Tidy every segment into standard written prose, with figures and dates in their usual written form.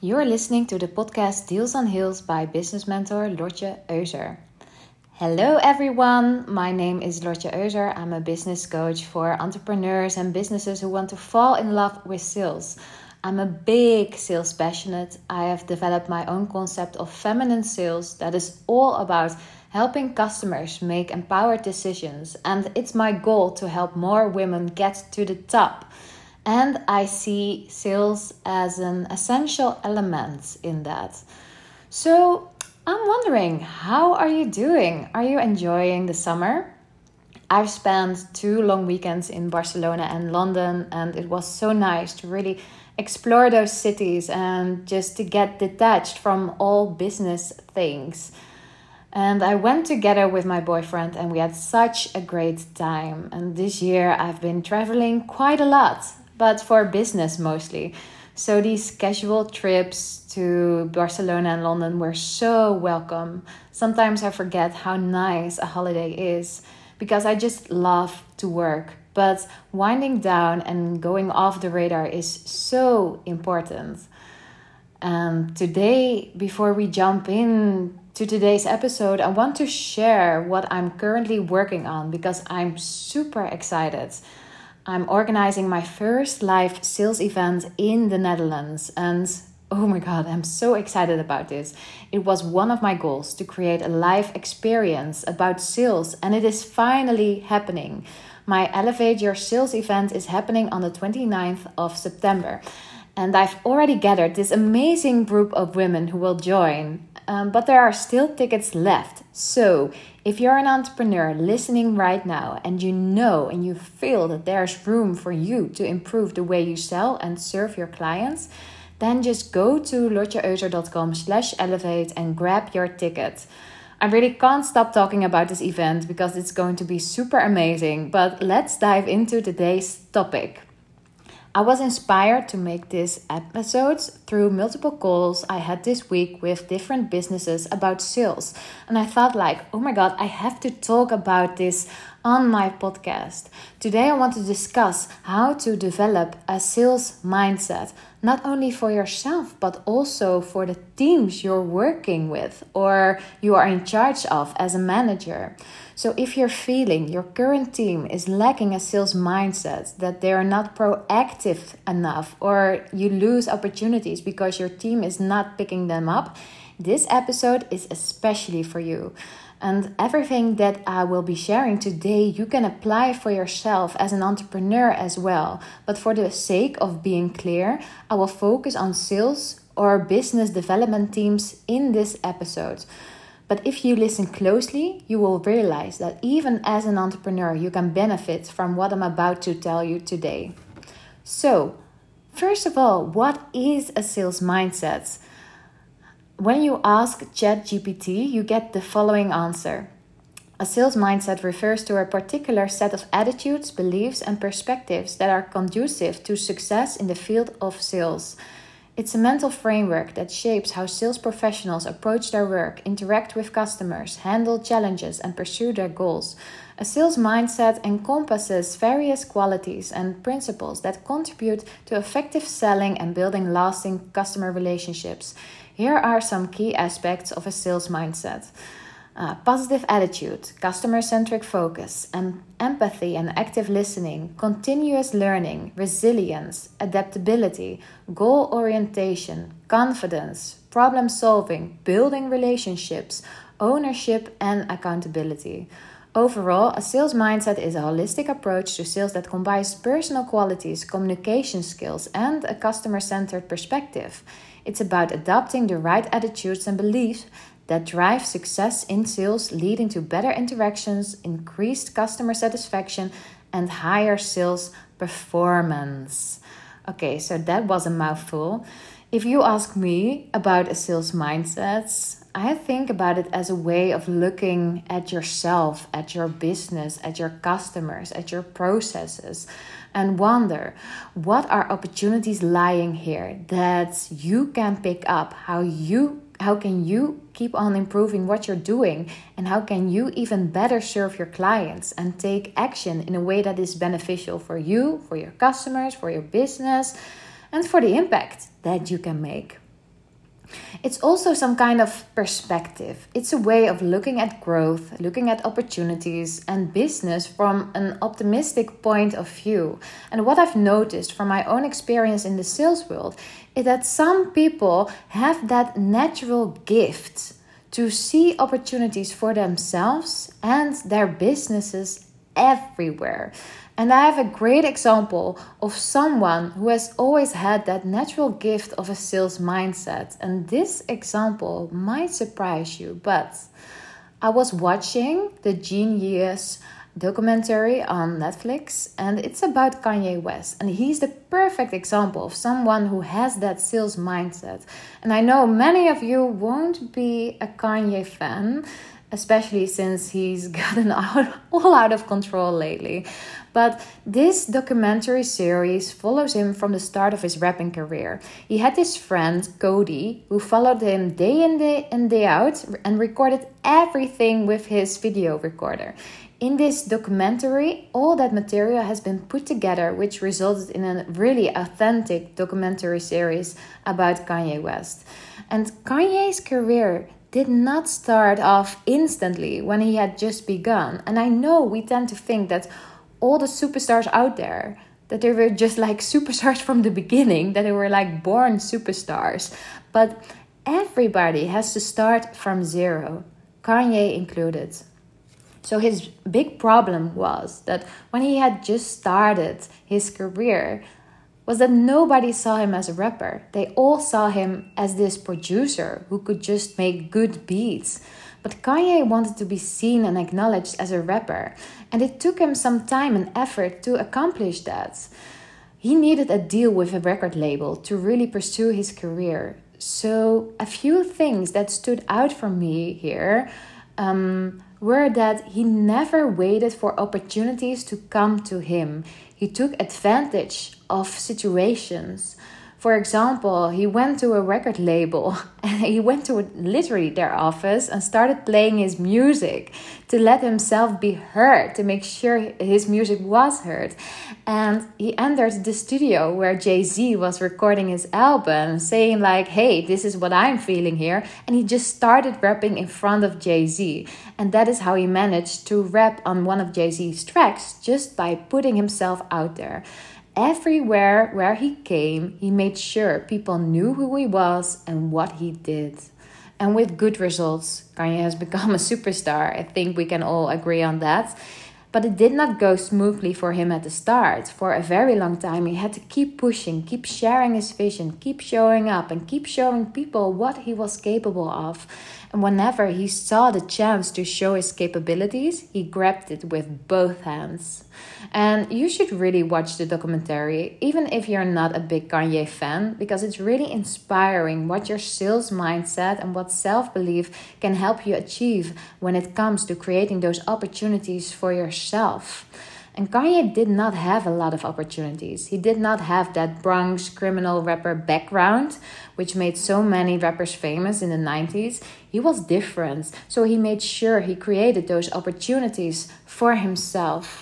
You are listening to the podcast Deals on Heels by business mentor Lotje Euser. Hello everyone, my name is Lotje Euser. I'm a business coach for entrepreneurs and businesses who want to fall in love with sales. I'm a big sales passionate. I have developed my own concept of feminine sales that is all about helping customers make empowered decisions, and it's my goal to help more women get to the top. And I see sales as an essential element in that. So I'm wondering, how are you doing? Are you enjoying the summer? I've spent 2 long weekends in Barcelona and London, and it was so nice to really explore those cities and just to get detached from all business things. And I went together with my boyfriend and we had such a great time. And this year I've been traveling quite a lot, but for business mostly. So these casual trips to Barcelona and London were so welcome. Sometimes I forget how nice a holiday is because I just love to work. But winding down and going off the radar is so important. And today, before we jump in to today's episode, I want to share what I'm currently working on because I'm super excited. I'm organizing my first live sales event in the Netherlands, and oh my god, I'm so excited about this. It was one of my goals to create a live experience about sales, and it is finally happening. My Elevate Your Sales event is happening on the 29th of September, and I've already gathered this amazing group of women who will join. But there are still tickets left. So if you're an entrepreneur listening right now and you know and you feel that there's room for you to improve the way you sell and serve your clients, then just go to lotjeeuser.com/elevate and grab your ticket. I really can't stop talking about this event because it's going to be super amazing. But let's dive into today's topic. I was inspired to make this episode through multiple calls I had this week with different businesses about sales. And I thought oh my god, I have to talk about this on my podcast. Today I want to discuss how to develop a sales mindset, not only for yourself, but also for the teams you're working with or you are in charge of as a manager. So if you're feeling your current team is lacking a sales mindset, that they are not proactive enough, or you lose opportunities because your team is not picking them up, this episode is especially for you. And everything that I will be sharing today, you can apply for yourself as an entrepreneur as well. But for the sake of being clear, I will focus on sales or business development teams in this episode. But if you listen closely, you will realize that even as an entrepreneur, you can benefit from what I'm about to tell you today. So, first of all, what is a sales mindset? When you ask ChatGPT, you get the following answer. A sales mindset refers to a particular set of attitudes, beliefs, and perspectives that are conducive to success in the field of sales. It's a mental framework that shapes how sales professionals approach their work, interact with customers, handle challenges, and pursue their goals. A sales mindset encompasses various qualities and principles that contribute to effective selling and building lasting customer relationships. Here are some key aspects of a sales mindset. Positive attitude, customer-centric focus, empathy and active listening, continuous learning, resilience, adaptability, goal orientation, confidence, problem solving, building relationships, ownership and accountability. Overall, a sales mindset is a holistic approach to sales that combines personal qualities, communication skills, and a customer-centered perspective. It's about adopting the right attitudes and beliefs that drive success in sales, leading to better interactions, increased customer satisfaction, and higher sales performance. Okay, so that was a mouthful. If you ask me about a sales mindset, I think about it as a way of looking at yourself, at your business, at your customers, at your processes, and wonder, what are opportunities lying here that you can pick up? How can you keep on improving what you're doing? And how can you even better serve your clients and take action in a way that is beneficial for you, for your customers, for your business, and for the impact that you can make? It's also some kind of perspective. It's a way of looking at growth, looking at opportunities and business from an optimistic point of view. And what I've noticed from my own experience in the sales world is that some people have that natural gift to see opportunities for themselves and their businesses everywhere. And I have a great example of someone who has always had that natural gift of a sales mindset. And this example might surprise you, but I was watching the Genius documentary on Netflix, and it's about Kanye West. And he's the perfect example of someone who has that sales mindset. And I know many of you won't be a Kanye fan, especially since he's gotten all out of control lately. But this documentary series follows him from the start of his rapping career. He had this friend, Cody, who followed him day in and day out and recorded everything with his video recorder. In this documentary, all that material has been put together, which resulted in a really authentic documentary series about Kanye West. And Kanye's career did not start off instantly when he had just begun. And I know we tend to think that all the superstars out there, that they were just like superstars from the beginning, that they were like born superstars. But everybody has to start from zero, Kanye included. So his big problem was that when he had just started his career, was that nobody saw him as a rapper. They all saw him as this producer who could just make good beats. But Kanye wanted to be seen and acknowledged as a rapper, and it took him some time and effort to accomplish that. He needed a deal with a record label to really pursue his career. So a few things that stood out for me here were that he never waited for opportunities to come to him. He took advantage of situations. For example, he went to a record label and he went to literally their office and started playing his music to let himself be heard, to make sure his music was heard. And he entered the studio where Jay-Z was recording his album, saying like, hey, this is what I'm feeling here. And he just started rapping in front of Jay-Z. And that is how he managed to rap on one of Jay-Z's tracks, just by putting himself out there. Everywhere where he came, he made sure people knew who he was and what he did. And with good results, Kanye has become a superstar. I think we can all agree on that. But it did not go smoothly for him at the start. For a very long time, he had to keep pushing, keep sharing his vision, keep showing up, and keep showing people what he was capable of. And whenever he saw the chance to show his capabilities, he grabbed it with both hands. And you should really watch the documentary, even if you're not a big Kanye fan, because it's really inspiring what your sales mindset and what self-belief can help you achieve when it comes to creating those opportunities for yourself. And Kanye did not have a lot of opportunities. He did not have that Bronx criminal rapper background, which made so many rappers famous in the 90s. He was different, so he made sure he created those opportunities for himself.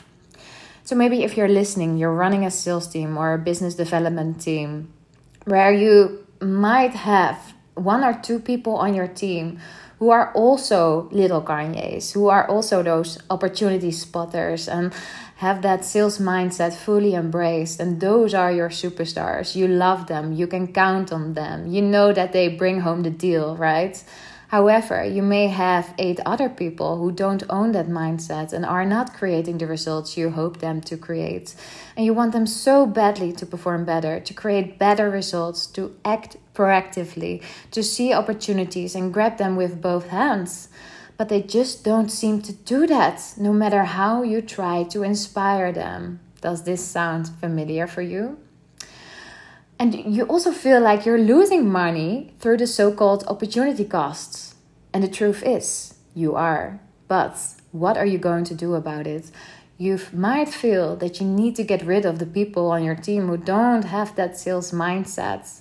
So maybe if you're listening, you're running a sales team or a business development team where you might have one or two people on your team who are also little Kanyes, who are also those opportunity spotters and have that sales mindset fully embraced. And those are your superstars. You love them. You can count on them. You know that they bring home the deal, right? However, you may have 8 other people who don't own that mindset and are not creating the results you hope them to create. And you want them so badly to perform better, to create better results, to act proactively, to see opportunities and grab them with both hands. But they just don't seem to do that, no matter how you try to inspire them. Does this sound familiar for you? And you also feel like you're losing money through the so-called opportunity costs. And the truth is, you are. But what are you going to do about it? You might feel that you need to get rid of the people on your team who don't have that sales mindset.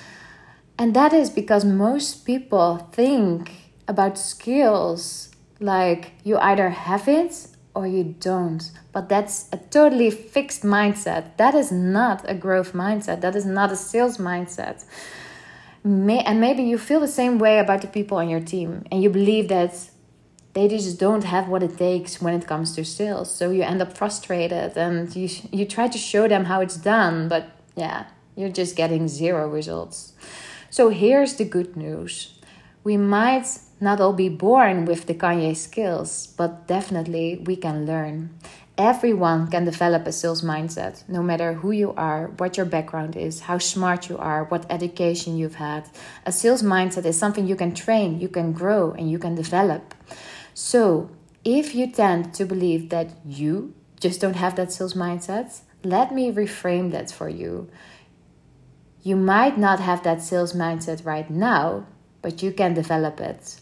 And that is because most people think about skills like you either have it or you don't. But that's a totally fixed mindset. That is not a growth mindset. That is not a sales mindset. And maybe you feel the same way about the people on your team, and you believe that they just don't have what it takes when it comes to sales. So you end up frustrated, and you try to show them how it's done, but yeah, you're just getting zero results. So here's the good news. We might not all be born with the Kanye skills, but definitely we can learn. Everyone can develop a sales mindset, no matter who you are, what your background is, how smart you are, what education you've had. A sales mindset is something you can train, you can grow, and you can develop. So if you tend to believe that you just don't have that sales mindset, let me reframe that for you. You might not have that sales mindset right now, but you can develop it.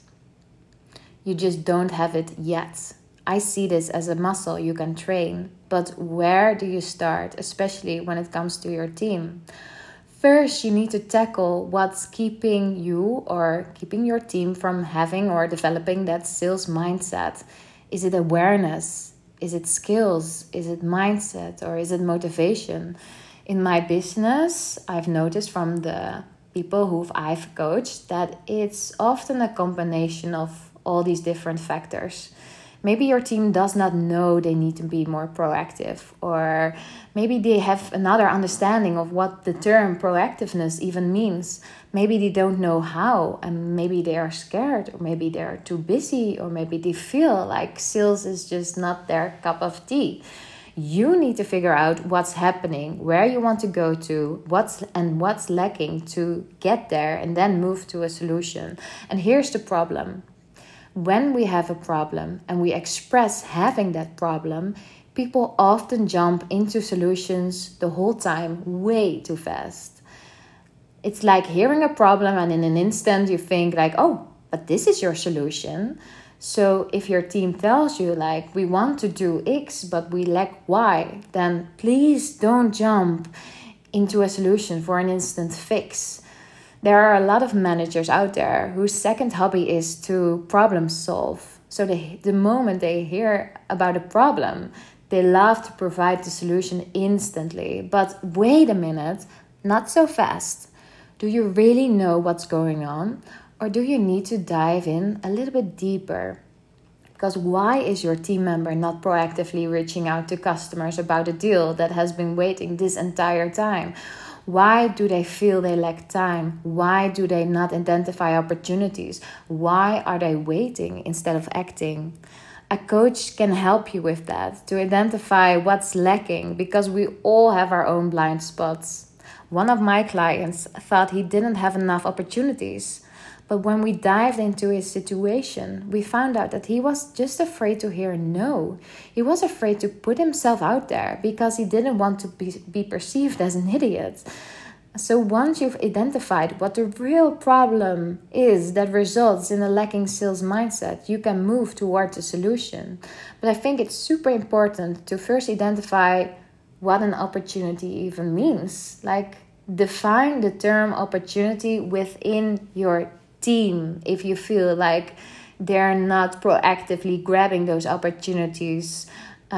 You just don't have it yet. I see this as a muscle you can train, but where do you start, especially when it comes to your team? First, you need to tackle what's keeping you or keeping your team from having or developing that sales mindset. Is it awareness? Is it skills? Is it mindset? Or is it motivation? In my business, I've noticed from the people who I've coached that it's often a combination of all these different factors. Maybe your team does not know they need to be more proactive, or maybe they have another understanding of what the term proactiveness even means. Maybe they don't know how, and maybe they are scared, or maybe they're too busy, or maybe they feel like sales is just not their cup of tea. You need to figure out what's happening, where you want to go to, what's lacking to get there, and then move to a solution. And here's the problem. When we have a problem and we express having that problem, people often jump into solutions the whole time way too fast. It's like hearing a problem and in an instant you think like, oh, but this is your solution. So if your team tells you like, we want to do X, but we lack Y, then please don't jump into a solution for an instant fix. There are a lot of managers out there whose second hobby is to problem solve. So the moment they hear about a problem, they love to provide the solution instantly. But wait a minute, not so fast. Do you really know what's going on? Or do you need to dive in a little bit deeper? Because why is your team member not proactively reaching out to customers about a deal that has been waiting this entire time? Why do they feel they lack time? Why do they not identify opportunities? Why are they waiting instead of acting? A coach can help you with that, to identify what's lacking, because we all have our own blind spots. One of my clients thought he didn't have enough opportunities. But when we dived into his situation, we found out that he was just afraid to hear no. He was afraid to put himself out there because he didn't want to be perceived as an idiot. So once you've identified what the real problem is that results in a lacking sales mindset, you can move towards a solution. But I think it's super important to first identify what an opportunity even means. Like, define the term opportunity within your team if you feel like they're not proactively grabbing those opportunities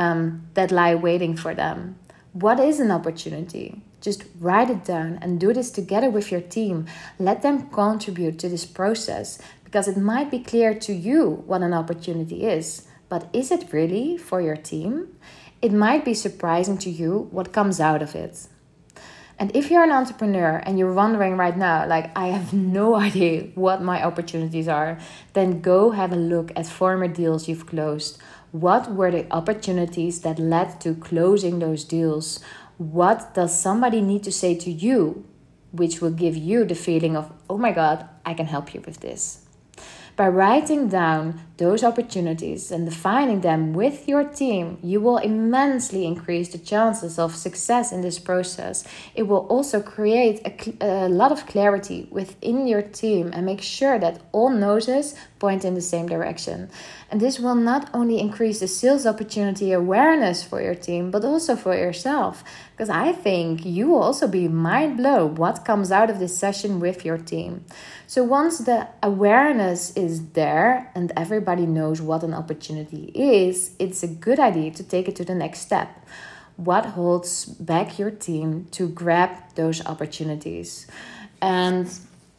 that lie waiting for them. What is an opportunity? Just write it down and do this together with your team. Let them contribute to this process, because it might be clear to you what an opportunity is, but is it really for your team? It might be surprising to you what comes out of it. And if you're an entrepreneur and you're wondering right now, like, I have no idea what my opportunities are, then go have a look at former deals you've closed. What were the opportunities that led to closing those deals? What does somebody need to say to you, which will give you the feeling of, oh my God, I can help you with this? By writing down those opportunities and defining them with your team, you will immensely increase the chances of success in this process. It will also create a lot of clarity within your team and make sure that all noses point in the same direction. And this will not only increase the sales opportunity awareness for your team, but also for yourself. Because I think you will also be mind blown what comes out of this session with your team. So once the awareness is there and everybody knows what an opportunity is, it's a good idea to take it to the next step. What holds back your team to grab those opportunities? And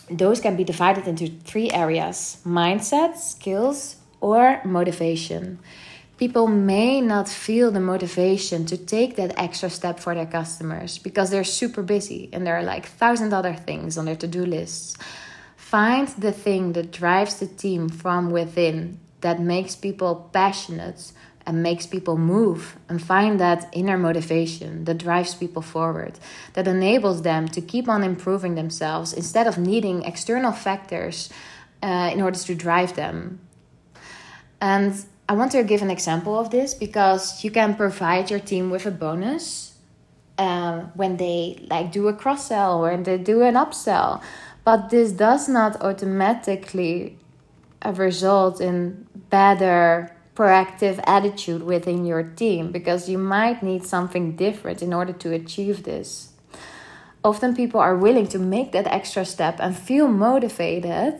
those can be divided into 3 areas: mindset, skills, or motivation. People may not feel the motivation to take that extra step for their customers because they're super busy and there are like 1,000 other things on their to-do lists. Find the thing that drives the team from within, that makes people passionate and makes people move, and find that inner motivation that drives people forward, that enables them to keep on improving themselves instead of needing external factors in order to drive them. And I want to give an example of this because you can provide your team with a bonus when they like do a cross-sell or they do an upsell. But this does not automatically result in better proactive attitude within your team, because you might need something different in order to achieve this. Often people are willing to make that extra step and feel motivated,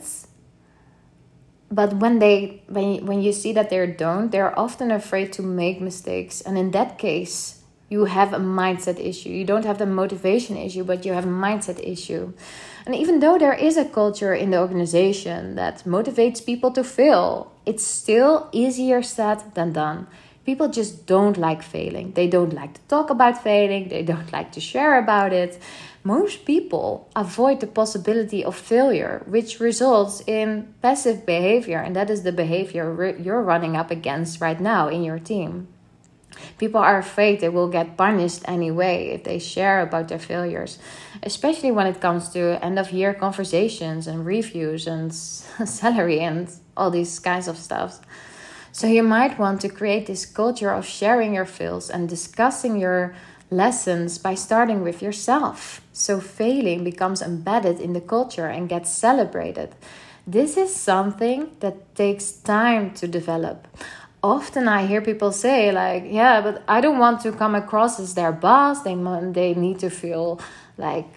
but when you see that they're often afraid to make mistakes. And in that case, you have a mindset issue. You don't have the motivation issue, but you have a mindset issue. And even though there is a culture in the organization that motivates people to fail, it's still easier said than done. People just don't like failing. They don't like to talk about failing. They don't like to share about it. Most people avoid the possibility of failure, which results in passive behavior. And that is the behavior you're running up against right now in your team. People are afraid they will get punished anyway if they share about their failures, especially when it comes to end-of-year conversations and reviews and salary and all these kinds of stuff. So you might want to create this culture of sharing your fails and discussing your lessons by starting with yourself. So failing becomes embedded in the culture and gets celebrated. This is something that takes time to develop. Often I hear people say like, yeah, but I don't want to come across as their boss. They need to feel like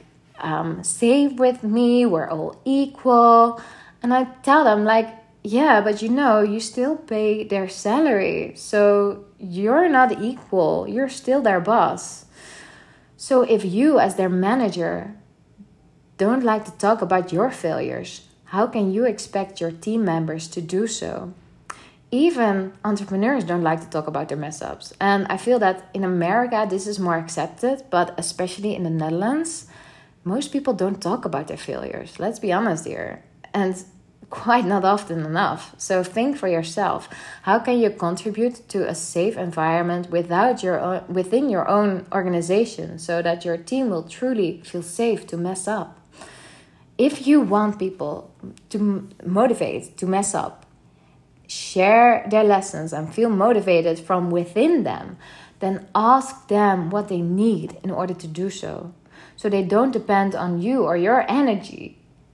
safe with me. We're all equal. And I tell them like, yeah, but you still pay their salary. So you're not equal. You're still their boss. So if you as their manager don't like to talk about your failures, how can you expect your team members to do so? Even entrepreneurs don't like to talk about their mess ups. And I feel that in America, this is more accepted, but especially in the Netherlands, most people don't talk about their failures. Let's be honest here. And quite not often enough. So think for yourself. How can you contribute to a safe environment within your own organization so that your team will truly feel safe to mess up? If you want people to motivate to mess up, share their lessons and feel motivated from within them, then ask them what they need in order to do so. So they don't depend on you or your energy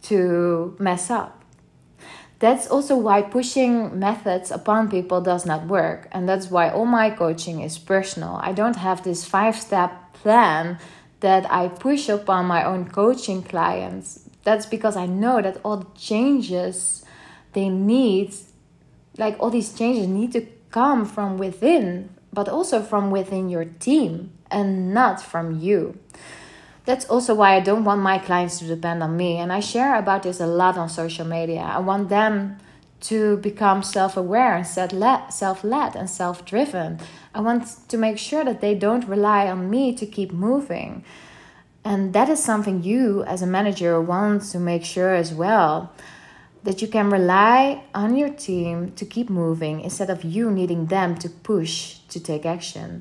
to mess up. That's also why pushing methods upon people does not work. And that's why all my coaching is personal. I don't have this 5-step plan that I push upon my own coaching clients. That's because I know that all the changes they need, like all these changes need to come from within, but also from within your team and not from you. That's also why I don't want my clients to depend on me. And I share about this a lot on social media. I want them to become self-aware and self-led and self-driven. I want to make sure that they don't rely on me to keep moving. And that is something you as a manager want to make sure as well. That you can rely on your team to keep moving instead of you needing them to push to take action.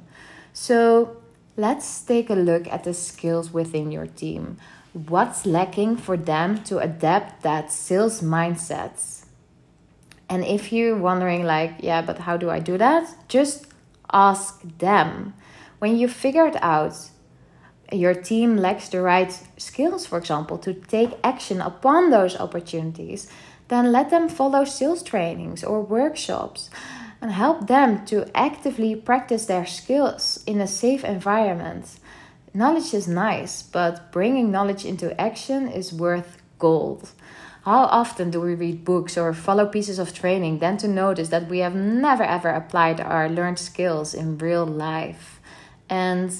So let's take a look at the skills within your team. What's lacking for them to adapt that sales mindset? And if you're wondering like, yeah, but how do I do that? Just ask them. When you figured out your team lacks the right skills, for example, to take action upon those opportunities, then let them follow sales trainings or workshops and help them to actively practice their skills in a safe environment. Knowledge is nice, but bringing knowledge into action is worth gold. How often do we read books or follow pieces of training then to notice that we have never ever applied our learned skills in real life? And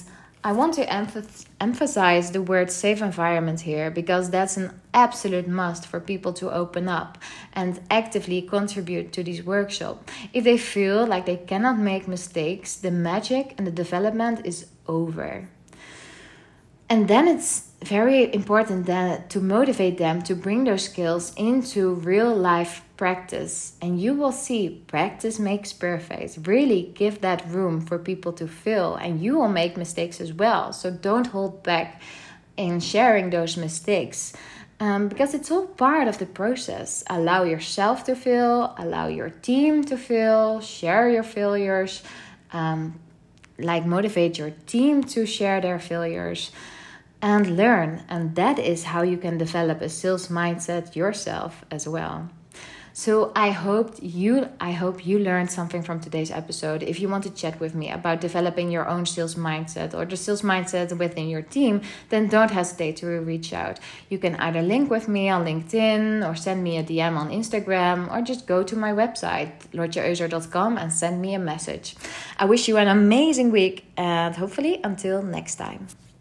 I want to emphasize the word safe environment here, because that's an absolute must for people to open up and actively contribute to this workshop. If they feel like they cannot make mistakes, the magic and the development is over. And then it's very important then to motivate them to bring those skills into real life practice. And you will see practice makes perfect. Really give that room for people to fail, and you will make mistakes as well. So don't hold back in sharing those mistakes, because it's all part of the process. Allow yourself to fail, allow your team to fail, share your failures, motivate your team to share their failures. And learn. And that is how you can develop a sales mindset yourself as well. So I hope you learned something from today's episode. If you want to chat with me about developing your own sales mindset or the sales mindset within your team, then don't hesitate to reach out. You can either link with me on LinkedIn or send me a DM on Instagram, or just go to my website, lotjeeuser.com, and send me a message. I wish you an amazing week, and hopefully until next time.